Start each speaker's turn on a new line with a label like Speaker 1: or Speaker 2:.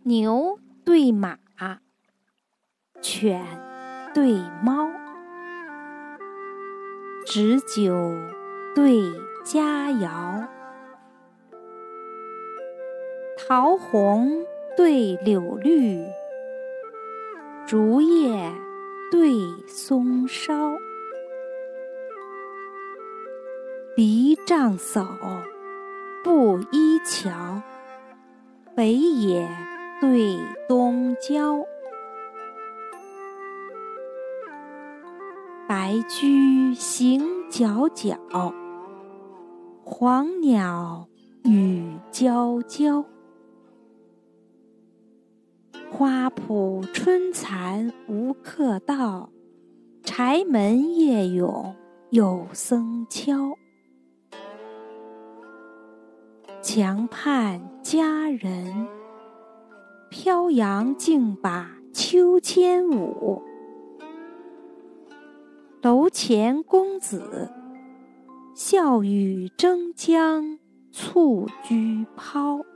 Speaker 1: 牛对马，犬对猫，纸酒对佳肴，桃红对柳绿，竹叶对松梢，篱笴叟不依桥，北野对东郊，白驹行皎皎，黄鸟语啾啾，花圃春蚕无客到，柴门夜咏有僧敲。墙畔佳人，飘扬竞把秋千舞。楼前公子，笑语争将蹴鞠抛。